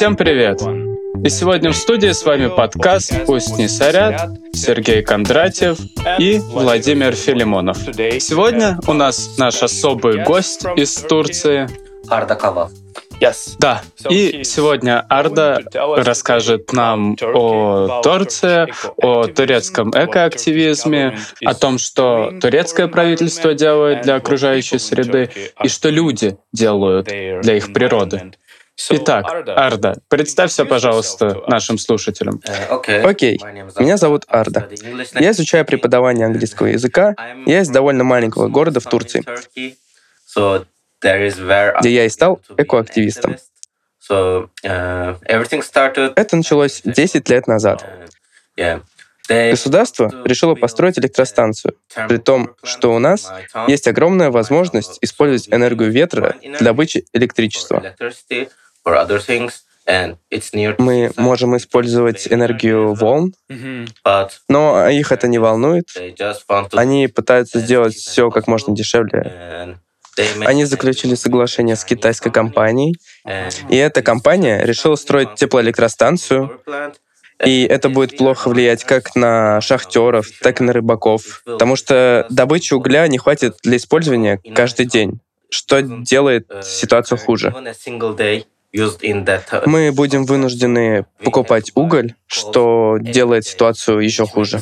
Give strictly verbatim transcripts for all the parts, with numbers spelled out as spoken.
Всем привет! И сегодня в студии с вами подкаст «Пусть не сорят», Сергей Кондратьев и Владимир Филимонов. Сегодня у нас наш особый гость из Турции. Арда Кава. Yes. Да, и сегодня Арда расскажет нам о Турции, о турецком экоактивизме, о том, что турецкое правительство делает для окружающей среды и что люди делают для их природы. Итак, Арда, представься, пожалуйста, нашим слушателям. Окей, меня зовут Арда. Я изучаю преподавание английского языка. Я из довольно маленького города в Турции, где я и стал экоактивистом. Это началось десять лет назад. Государство решило построить электростанцию, при том, что у нас есть огромная возможность использовать энергию ветра для добычи электричества. Мы можем использовать энергию волн, но их это не волнует. Они пытаются сделать все как можно дешевле. Они заключили соглашение с китайской компанией, и эта компания решила строить теплоэлектростанцию, и это будет плохо влиять как на шахтеров, так и на рыбаков, потому что добычи угля не хватит для использования каждый день, что делает ситуацию хуже. Мы будем вынуждены покупать уголь, что делает ситуацию еще хуже.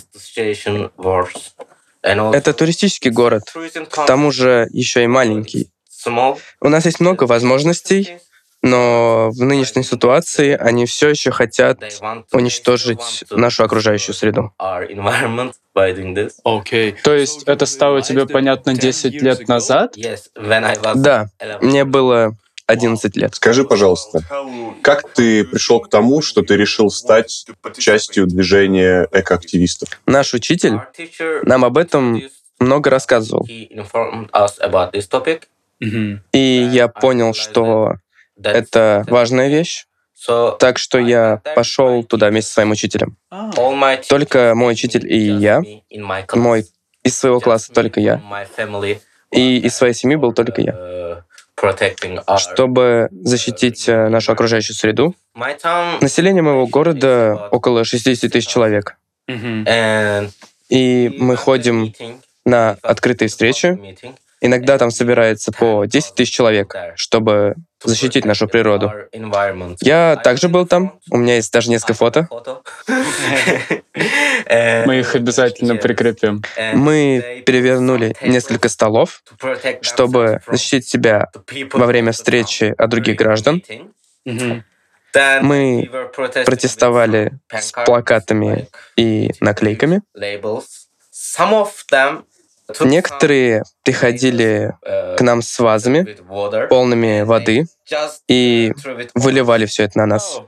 Это туристический город, к тому же еще и маленький. У нас есть много возможностей, но в нынешней ситуации они все еще хотят уничтожить нашу окружающую среду. Окей. То есть это стало тебе понятно десять лет назад? Да, мне было одиннадцать лет. Скажи, пожалуйста, как ты пришел к тому, что ты решил стать частью движения экоактивистов? Наш учитель нам об этом много рассказывал. И я понял, что это важная вещь, так что я пошел туда вместе со своим учителем. Только мой учитель и я, мой из своего класса только я, и из своей семьи был только я. Чтобы защитить нашу окружающую среду. Население моего города около шестьдесят тысяч человек. И мы ходим на открытые встречи. Иногда там собирается по десять тысяч человек, чтобы защитить нашу природу. Я также был там. У меня есть даже несколько фото. Мы их обязательно прикрепим. Мы перевернули несколько столов, чтобы защитить себя во время встречи от других граждан. Мы протестовали с плакатами и наклейками. Некоторые приходили к нам с вазами, полными воды, и выливали все это на нас.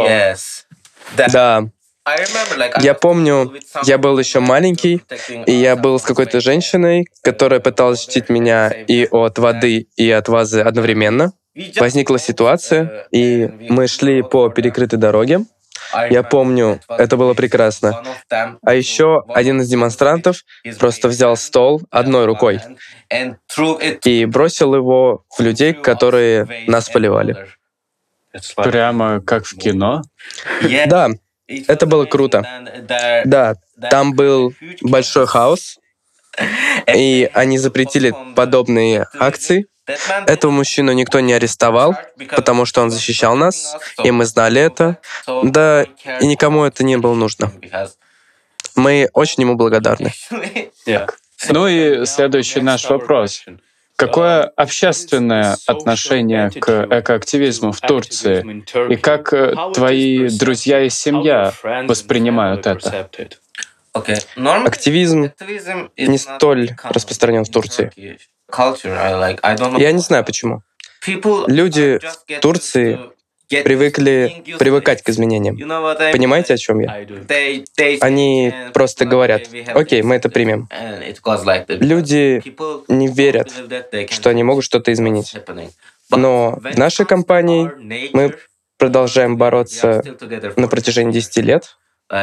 Да. Я помню, я был еще маленький, и я был с какой-то женщиной, которая пыталась защитить меня и от воды, и от вазы одновременно. Возникла ситуация, и мы шли по перекрытой дороге. Я помню, это было прекрасно. А еще один из демонстрантов просто взял стол одной рукой и бросил его в людей, которые нас поливали. Прямо как в кино? Да, это было круто. Да, там был большой хаос, и они запретили подобные акции. Этого мужчину никто не арестовал, потому что он защищал нас, и мы знали это. Да, и никому это не было нужно. Мы очень ему благодарны. Ну и следующий наш вопрос. Какое общественное отношение к экоактивизму в Турции? И как твои друзья и семья воспринимают это? Активизм не столь распространен в Турции. Я не знаю почему. Люди в Турции привыкли привыкать к изменениям. Понимаете, о чем я? Они просто говорят: окей, мы это примем. Люди не верят, что они могут что-то изменить. Но в нашей компании мы продолжаем бороться на протяжении десяти лет.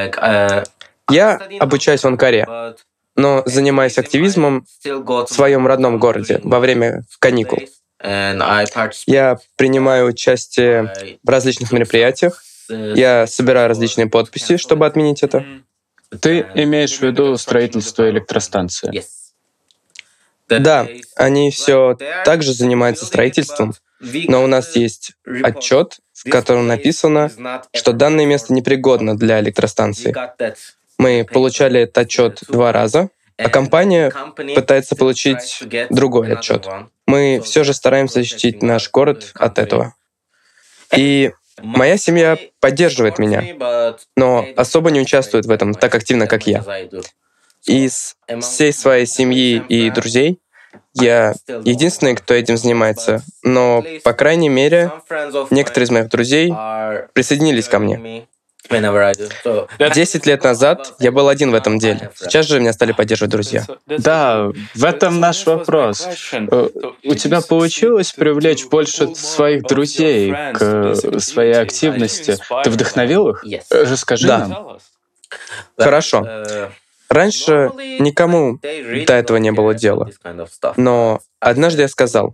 Я обучаюсь в Анкаре, но занимаюсь активизмом в своем родном городе во время каникул. Я принимаю участие в различных мероприятиях. Я собираю различные подписи, чтобы отменить это. Ты имеешь в виду строительство электростанции? Да, они все также занимаются строительством, но у нас есть отчет, в котором написано, что данное место непригодно для электростанции. Мы получали этот отчет два раза, а компания пытается получить другой отчет. Мы все же стараемся защитить наш город от этого. И моя семья поддерживает меня, но особо не участвует в этом так активно, как я. Из всей своей семьи и друзей я единственный, кто этим занимается, но, по крайней мере, некоторые из моих друзей присоединились ко мне. Десять лет назад я был один в этом деле. Сейчас же меня стали поддерживать друзья. Да, в этом наш вопрос. Э, У тебя получилось привлечь больше своих друзей к своей активности? Ты вдохновил их? Э, Расскажи Да. нам. Хорошо. Раньше никому до этого не было дела. Но однажды я сказал: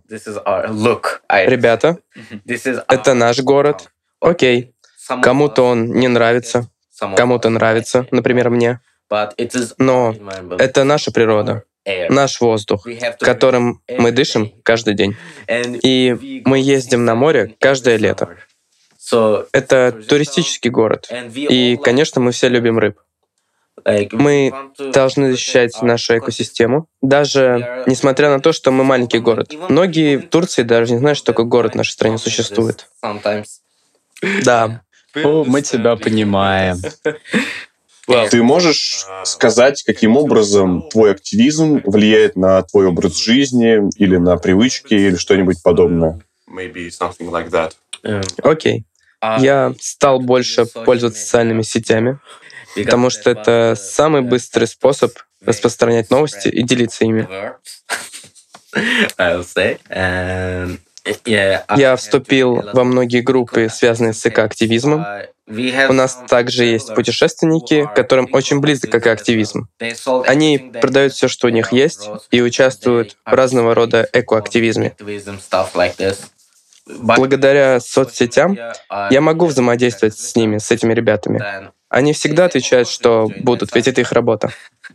«Ребята, это наш город. Окей. Кому-то он не нравится, кому-то нравится, например, мне. Но это наша природа, наш воздух, которым мы дышим каждый день. И мы ездим на море каждое лето. Это туристический город. И, конечно, мы все любим рыб. Мы должны защищать нашу экосистему, даже несмотря на то, что мы маленький город. Многие в Турции даже не знают, что такой город в нашей стране существует. Да. О, мы тебя понимаем. Ты можешь сказать, каким образом твой активизм влияет на твой образ жизни или на привычки или что-нибудь подобное? Окей. Я стал больше пользоваться социальными сетями, потому что это самый быстрый способ распространять новости и делиться ими. Я вступил во многие группы, связанные с экоактивизмом. У нас также есть путешественники, которым очень близок экоактивизм. Они продают все, что у них есть, и участвуют в разного рода экоактивизме. Благодаря соцсетям я могу взаимодействовать с ними, с этими ребятами. Они всегда отвечают, что будут, ведь это их работа.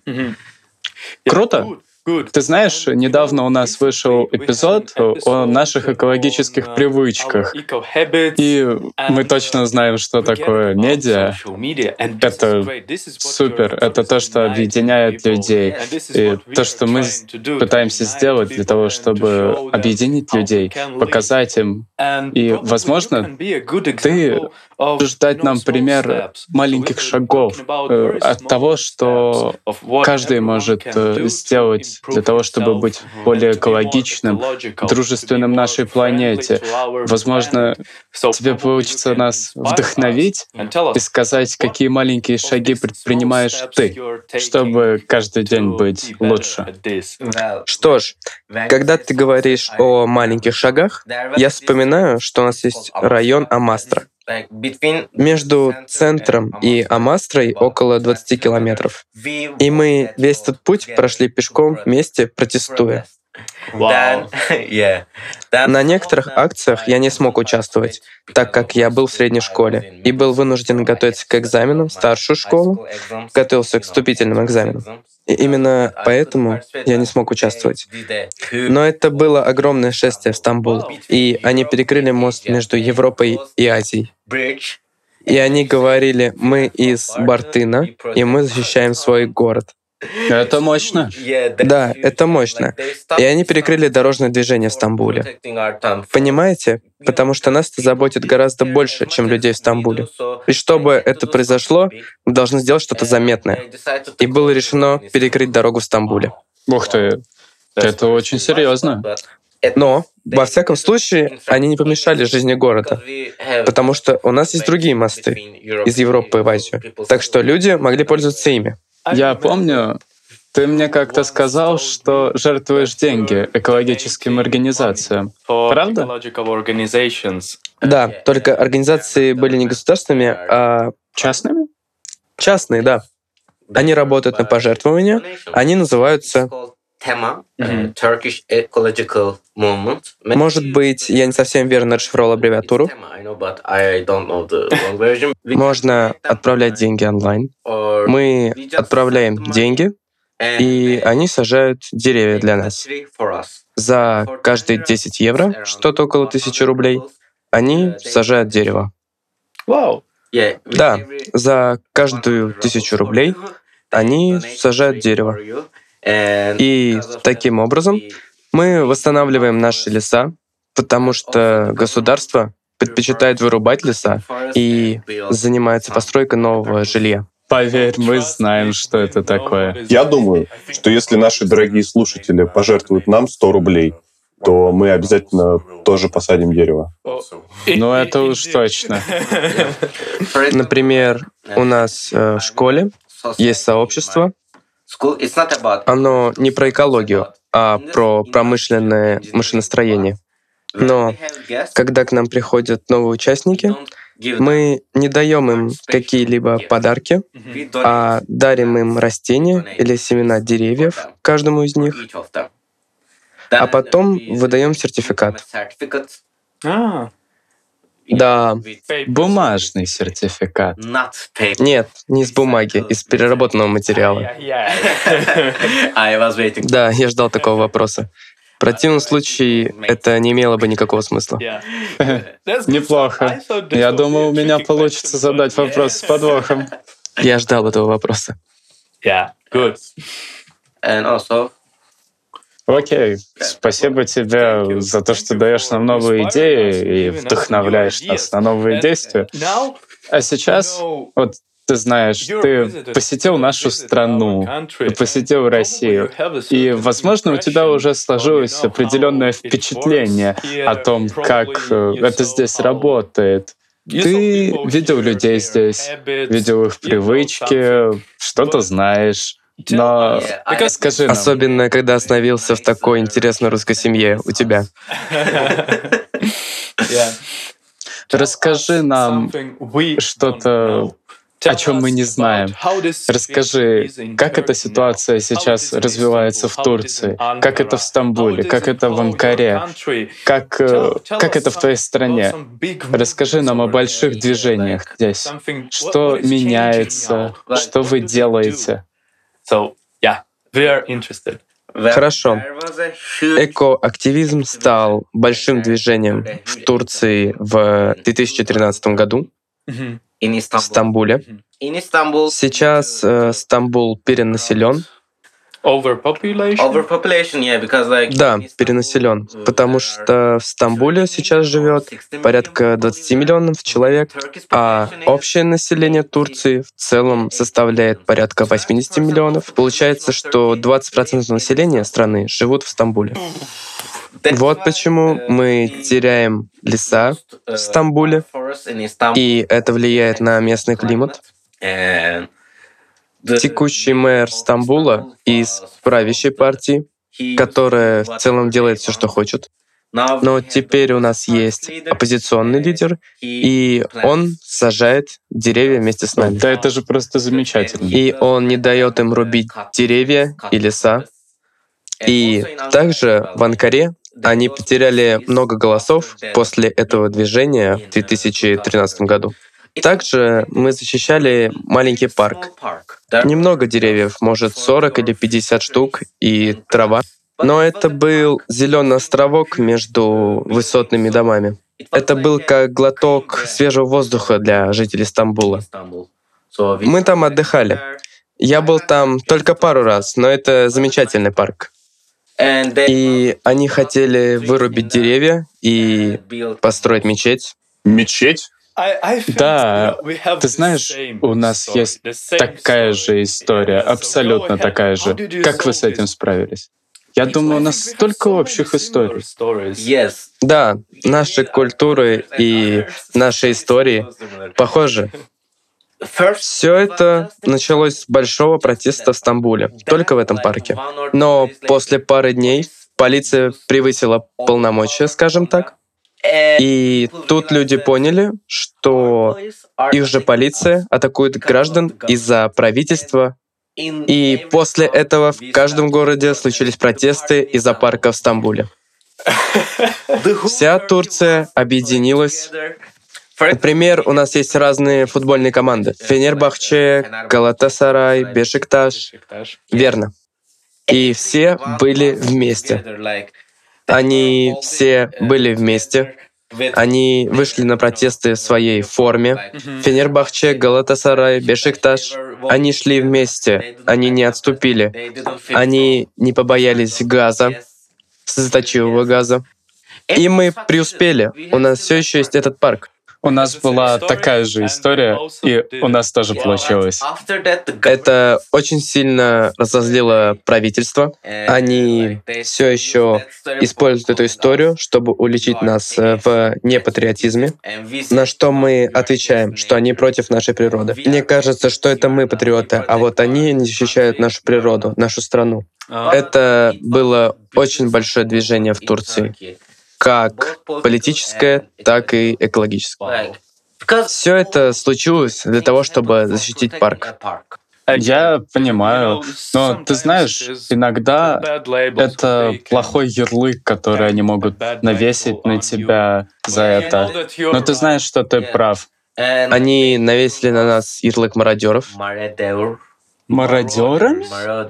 Круто. Ты знаешь, недавно у нас вышел эпизод о наших экологических привычках. И мы точно знаем, что такое медиа. Это супер. Это то, что объединяет людей. И то, что мы пытаемся сделать для того, чтобы объединить людей, показать им. И, возможно, ты можешь дать нам пример маленьких шагов э, от того, что каждый может э, сделать для того, чтобы быть более экологичным, дружественным нашей планете. Возможно, тебе получится нас вдохновить и сказать, какие маленькие шаги предпринимаешь ты, чтобы каждый день быть лучше. Что ж, когда ты говоришь о маленьких шагах, я вспоминаю, что у нас есть район Амастра. Между центром и Амастрой около двадцати километров. И мы весь этот путь прошли пешком вместе, протестуя. Вау. На некоторых акциях я не смог участвовать, так как я был в средней школе и был вынужден готовиться к экзаменам в старшую школу, готовился к вступительным экзаменам. И именно поэтому я не смог участвовать. Но это было огромное шествие в Стамбул, и они перекрыли мост между Европой и Азией. И они говорили: «Мы из Бартына, и мы защищаем свой город». Это мощно. Да, это мощно. И они перекрыли дорожное движение в Стамбуле. Понимаете? Потому что нас это заботит гораздо больше, чем людей в Стамбуле. И чтобы это произошло, мы должны сделать что-то заметное. И было решено перекрыть дорогу в Стамбуле. Ух ты, это очень серьезно. Но, во всяком случае, они не помешали жизни города, потому что у нас есть другие мосты из Европы в Азию. Так что люди могли пользоваться ими. Я помню, ты мне как-то сказал, что жертвуешь деньги экологическим организациям. Правда? Да, только организации были не государственными, а Частными? частные, да. Они работают на пожертвования, они называются Может быть, я не совсем верно расшифровал аббревиатуру. Можно отправлять деньги онлайн. Мы отправляем деньги, и они сажают деревья для нас. За каждые десять евро, что-то около тысячи рублей, они сажают дерево. Вау! Да, за каждую тысячу рублей они сажают дерево. И таким образом мы восстанавливаем наши леса, потому что государство предпочитает вырубать леса и занимается постройкой нового жилья. Поверь, мы знаем, что это такое. Я думаю, что если наши дорогие слушатели пожертвуют нам сто рублей, то мы обязательно тоже посадим дерево. Ну, это уж точно. Например, у нас э, в школе есть сообщество. Оно не про экологию, а про промышленное машиностроение. Но когда к нам приходят новые участники, мы не даем им какие-либо подарки, а дарим им растения или семена деревьев, каждому из них, а потом выдаем сертификат. А, Да, бумажный сертификат. нет, не из бумаги, из переработанного материала. Да, я ждал такого вопроса. В противном случае это не имело бы никакого смысла. Неплохо. Я думал, у меня получится задать вопрос с подвохом. Я ждал этого вопроса. Окей. Спасибо тебе за то, что даешь нам новые идеи и вдохновляешь нас на новые действия. А сейчас, вот ты знаешь, ты посетил нашу страну, ты посетил Россию, и, возможно, у тебя уже сложилось определенное впечатление о том, как э, это здесь работает. Ты видел людей здесь, видел их привычки, что-то знаешь. Но скажи нам. Особенно, когда остановился в такой интересной русской семье у тебя. Расскажи нам что-то, о чем мы не знаем. Расскажи, как эта ситуация сейчас развивается в Турции, как это в Стамбуле, как это в Анкаре, как, э, как это в твоей стране. Расскажи нам о больших движениях здесь. Что меняется, что вы делаете. Хорошо. Экоактивизм стал большим движением в Турции в две тысячи тринадцатом году, в Стамбуле. Сейчас э, Стамбул перенаселен. Да, перенаселен, потому что в Стамбуле сейчас живет порядка двадцать миллионов человек, а общее население Турции в целом составляет порядка восемьдесят миллионов. Получается, что двадцать процентов населения страны живут в Стамбуле. Вот почему мы теряем леса в Стамбуле, и это влияет на местный климат. Текущий мэр Стамбула из правящей партии, которая в целом делает все, что хочет. Но теперь у нас есть оппозиционный лидер, и он сажает деревья вместе с нами. Да, это же просто замечательно. И он не дает им рубить деревья и леса. И также в Анкаре они потеряли много голосов после этого движения в две тысячи тринадцатом году. Также мы защищали маленький парк. Немного деревьев, может сорок или пятьдесят штук, и трава. Но это был зеленый островок между высотными домами. Это был как глоток свежего воздуха для жителей Стамбула. Мы там отдыхали. Я был там только пару раз, но это замечательный парк. И они хотели вырубить деревья и построить мечеть. Мечеть? Да, ты знаешь, у нас есть такая же история, абсолютно такая же. Как вы с этим справились? Я думаю, у нас столько общих историй. Да, наши культуры и наши истории похожи. Все это началось с большого протеста в Стамбуле, только в этом парке. Но после пары дней полиция превысила полномочия, скажем так. И тут люди поняли, что их же полиция атакует граждан из-за правительства И после этого в каждом городе случились протесты из-за парка в Стамбуле. Вся Турция объединилась. Например, у нас есть разные футбольные команды. Фенербахче, Галатасарай, Бешикташ. Верно. И все были вместе. Они все были вместе. Они вышли на протесты в своей форме. Фенербахче, Галатасарай, Бешикташ. Они шли вместе. Они не отступили. Они не побоялись газа, слезоточивого газа. И мы преуспели. У нас все еще есть этот парк. У нас была такая же история, и у нас тоже получилось. Это очень сильно разозлило правительство. Они все еще используют эту историю, чтобы уличить нас в непатриотизме, на что мы отвечаем, что они против нашей природы. Мне кажется, что это мы патриоты, а вот они не защищают нашу природу, нашу страну. Это было очень большое движение в Турции. Как политическое, так и экологическое. Все это случилось для того, чтобы защитить парк. Я понимаю, но ты знаешь, иногда это плохой ярлык, который они могут навесить на тебя за это. Но ты знаешь, что ты прав. Они навесили на нас ярлык мародеров. Мародерами?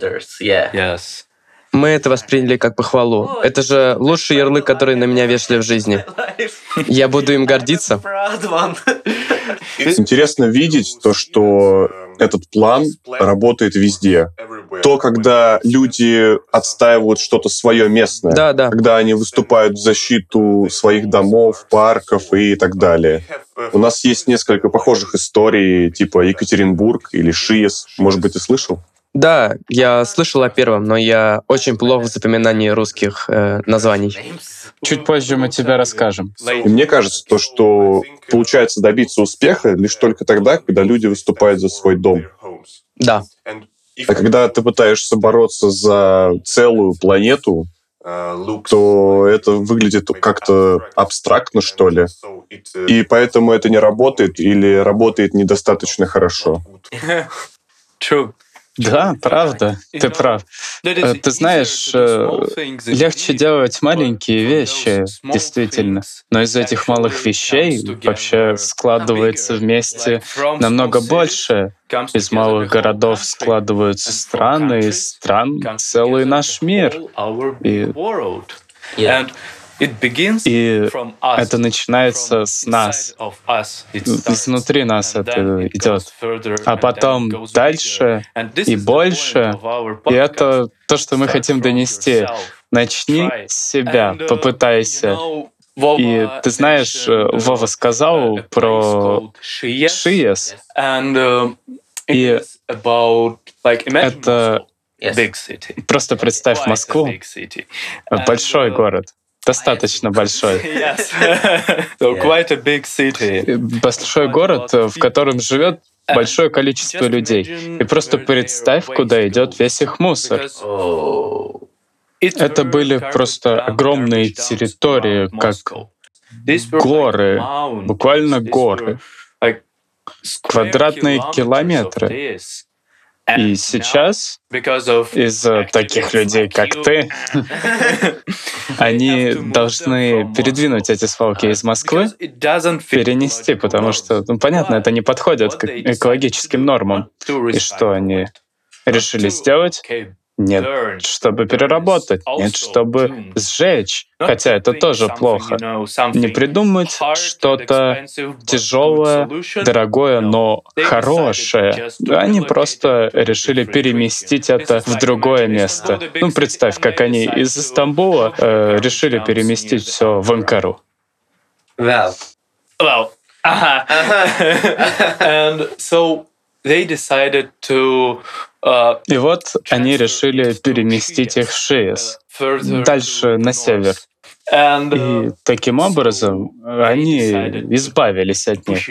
Мы это восприняли как похвалу. Это же лучший ярлык, который на меня вешали в жизни. Я буду им гордиться. Интересно видеть то, что этот план работает везде. То, когда люди отстаивают что-то свое местное, да, да. Когда они выступают в защиту своих домов, парков и так далее. У нас есть несколько похожих историй, типа Екатеринбург или Шиес. Может быть, ты слышал? Да, я слышал о первом, но я очень плох в запоминании русских э, названий. Чуть позже мы тебе расскажем. И мне кажется, то, что получается добиться успеха лишь только тогда, когда люди выступают за свой дом. Да. А когда ты пытаешься бороться за целую планету, то это выглядит как-то абстрактно, что ли. И поэтому это не работает или работает недостаточно хорошо. True. Да, правда, ты прав. Ты знаешь, легче делать маленькие вещи, действительно. Но из этих малых вещей вообще складывается вместе намного больше. Из малых городов складываются страны, из стран целый наш мир. И... И это начинается с нас. Изнутри нас это идет. А потом дальше и больше. И это то, что мы хотим донести. Начни с себя, попытайся. И ты знаешь, Вова сказал про Шиес. И это... Просто представь Москву. Большой город. Достаточно большой. Большой город, в котором живет большое количество людей. И просто представь, куда идет весь их мусор. Это были просто огромные территории, как горы, буквально горы, квадратные километры. И сейчас из-за таких людей, как ты, они должны передвинуть эти свалки из Москвы, перенести, потому что, ну, понятно, это не подходит к экологическим нормам. И что они решили сделать? Нет, чтобы переработать, нет, чтобы сжечь. Хотя это тоже плохо. Не придумать что-то тяжелое, дорогое, но хорошее. Они просто решили переместить это в другое место. Ну, представь, как они из Стамбула э, решили переместить все в Анкару. Well. Well. Uh-huh. Uh-huh. And so they decided to И вот они решили переместить их в Шиес, дальше на север. И таким образом они избавились от них.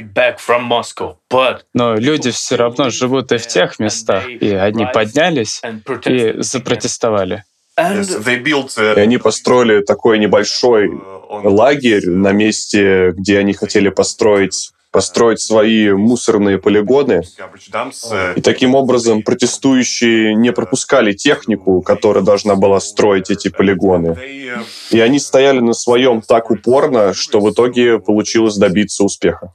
Но люди все равно живут и в тех местах, и они поднялись и запротестовали. И они построили такой небольшой лагерь на месте, где они хотели построить построить свои мусорные полигоны. И таким образом протестующие не пропускали технику, которая должна была строить эти полигоны. И они стояли на своем так упорно, что в итоге получилось добиться успеха.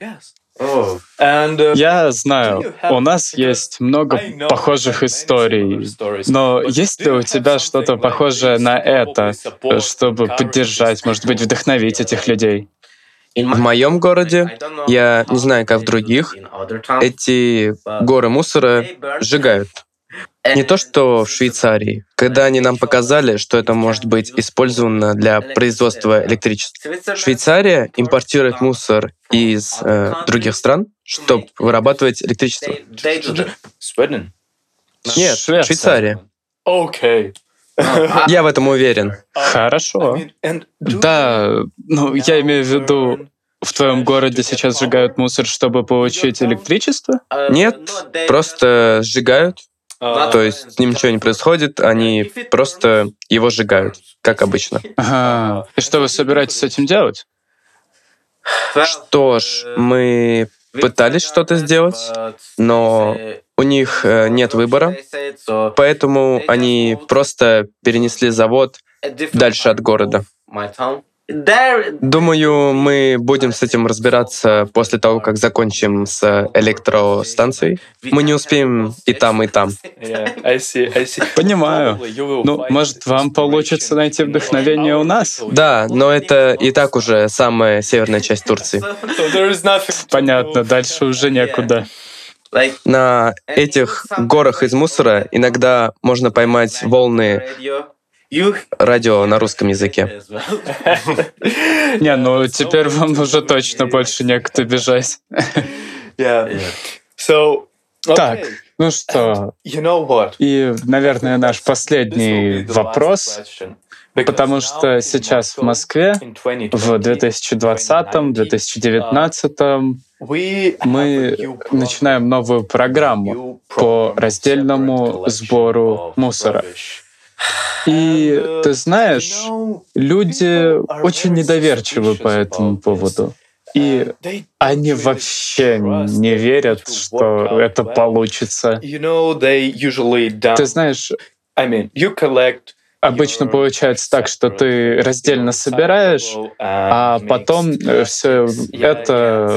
Я знаю, у нас есть много похожих историй, но есть ли у тебя что-то похожее на это, чтобы поддержать, может быть, вдохновить этих людей? В моем городе, я не знаю, как в других, эти горы мусора сжигают. Не то, что в Швейцарии, когда они нам показали, что это может быть использовано для производства электричества. Швейцария импортирует мусор из э, других стран, чтобы вырабатывать электричество. Нет, Швейцария. Окей. Я в этом уверен. Хорошо. Да, ну я имею в виду, в твоем городе сейчас сжигают мусор, чтобы получить электричество? Нет, просто сжигают. То есть с ним ничего не происходит, они просто его сжигают, как обычно. Ага. И что вы собираетесь с этим делать? Что ж, мы пытались что-то сделать, но у них э, нет выбора, поэтому они просто перенесли завод дальше от города. Думаю, мы будем с этим разбираться после того, как закончим с электростанцией. Мы не успеем и там, и там. Понимаю. Ну, может, вам получится найти вдохновение у нас? Да, но это и так уже самая северная часть Турции. Понятно, дальше уже некуда. На этих горах из мусора иногда можно поймать волны радио на русском языке. Не, ну теперь вам уже точно больше некуда бежать. Так, ну что, и, наверное, наш последний вопрос, потому что сейчас в Москве в две тысячи двадцатом — две тысячи девятнадцатом мы начинаем новую программу по раздельному сбору мусора. И ты знаешь, люди очень недоверчивы по этому поводу. И они вообще не верят, что это получится. Ты знаешь, обычно получается так, что ты раздельно собираешь, а потом все это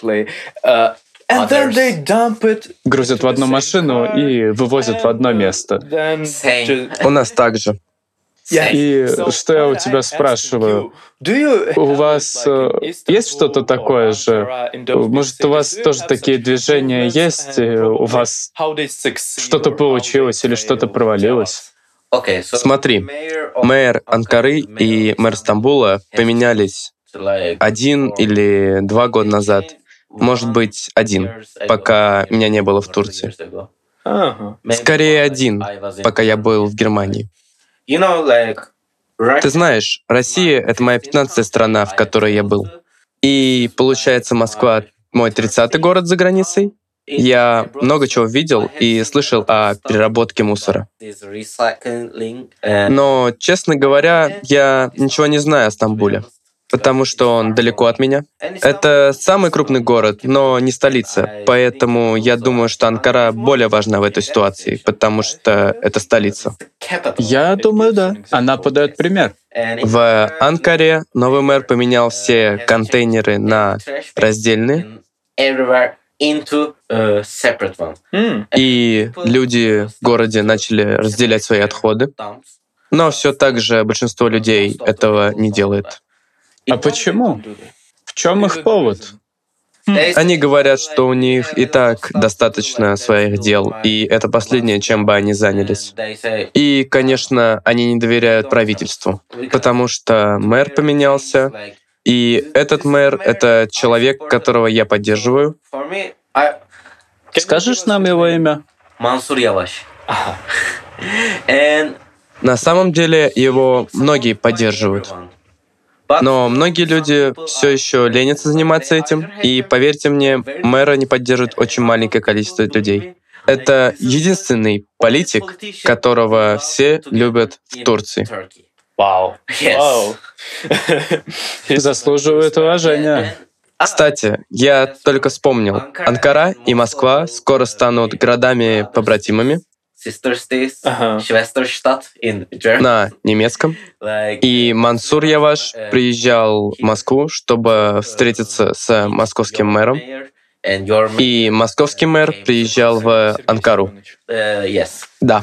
грузят в одну машину и вывозят в одно место. У нас так же. И что я у тебя спрашиваю? У вас э, есть что-то такое же? Может, у вас тоже такие движения есть? И у вас что-то получилось или что-то провалилось? Смотри, мэр Анкары и мэр Стамбула поменялись один или два года назад. Может быть, один, пока меня не было в Турции. Скорее один, пока я был в Германии. Ты знаешь, Россия — это моя пятнадцатая страна, в которой я был. И, получается, Москва — мой тридцатый город за границей. Я много чего видел и слышал о переработке мусора. Но, честно говоря, я ничего не знаю о Стамбуле, потому что он далеко от меня. Это самый крупный город, но не столица, поэтому я думаю, что Анкара более важна в этой ситуации, потому что это столица. Я думаю, да. Она подает пример. В Анкаре новый мэр поменял все контейнеры на раздельные, и люди в городе начали разделять свои отходы, но все так же большинство людей этого не делает. А почему? В чем их повод? Они говорят, что у них и так достаточно своих дел, и это последнее, чем бы они занялись. И, конечно, они не доверяют правительству, потому что мэр поменялся, и этот мэр — это человек, которого я поддерживаю. Скажешь нам его имя? Мансур Яваш. На самом деле его многие поддерживают. Но многие люди все еще ленятся заниматься этим, и, поверьте мне, мэра не поддерживает очень маленькое количество людей. Это единственный политик, которого все любят в Турции. Вау. Вау. Заслуживает уважения. Кстати, я только вспомнил, Анкара и Москва скоро станут городами-побратимами Ага. на немецком. И Мансур Яваш приезжал в Москву, чтобы встретиться с московским мэром. И московский мэр приезжал в Анкару. Да.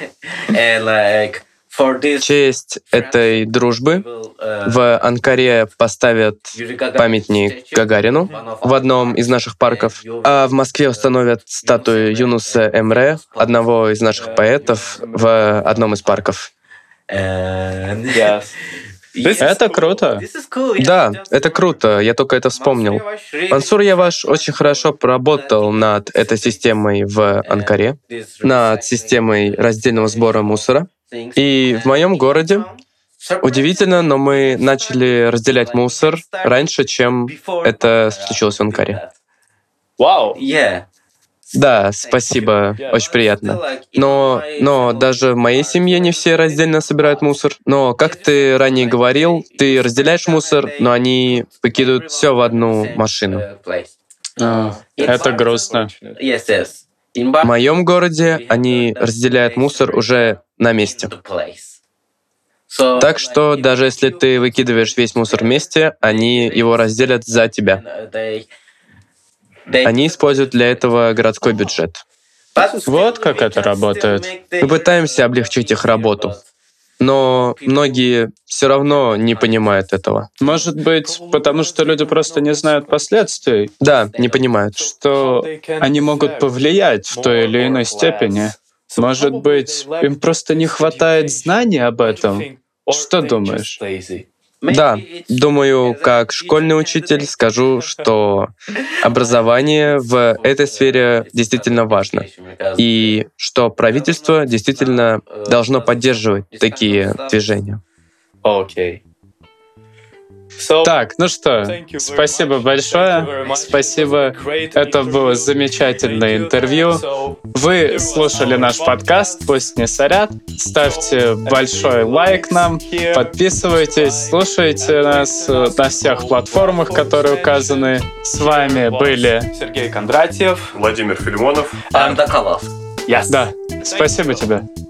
В честь этой дружбы в Анкаре поставят памятник Гагарину в одном из наших парков, а в Москве установят статую Юнуса Эмре, одного из наших поэтов, в одном из парков. Yes. Это круто. Да, это круто, я только это вспомнил. Мансур Яваш очень хорошо поработал над этой системой в Анкаре, над системой раздельного сбора мусора. И в моем городе, удивительно, но мы начали разделять мусор раньше, чем это случилось в Анкаре. Вау. Да, спасибо, очень приятно. Но, но даже в моей семье не все раздельно собирают мусор. Но, как ты ранее говорил, ты разделяешь мусор, но они выкидывают все в одну машину. А, это грустно. В моем городе они разделяют мусор уже на месте. Так что даже если ты выкидываешь весь мусор вместе, они его разделят за тебя. Они используют для этого городской бюджет. Вот как это работает. Мы пытаемся облегчить их работу, но многие все равно не понимают этого. Может быть, потому что люди просто не знают последствий, Да, не понимают. что они могут повлиять в той или иной степени. Может быть, им просто не хватает знаний об этом. Что думаешь? Да, думаю, как школьный учитель скажу, что образование в этой сфере действительно важно, и что правительство действительно должно поддерживать такие движения. Окей. Так, ну что, спасибо большое. Спасибо. Это было замечательное интервью. Вы слушали наш подкаст «Пусть не сорят». Ставьте большой лайк нам, подписывайтесь, слушайте нас на всех платформах, которые указаны. С вами были Сергей Кондратьев, Владимир Филимонов. Yes. Да, спасибо тебе.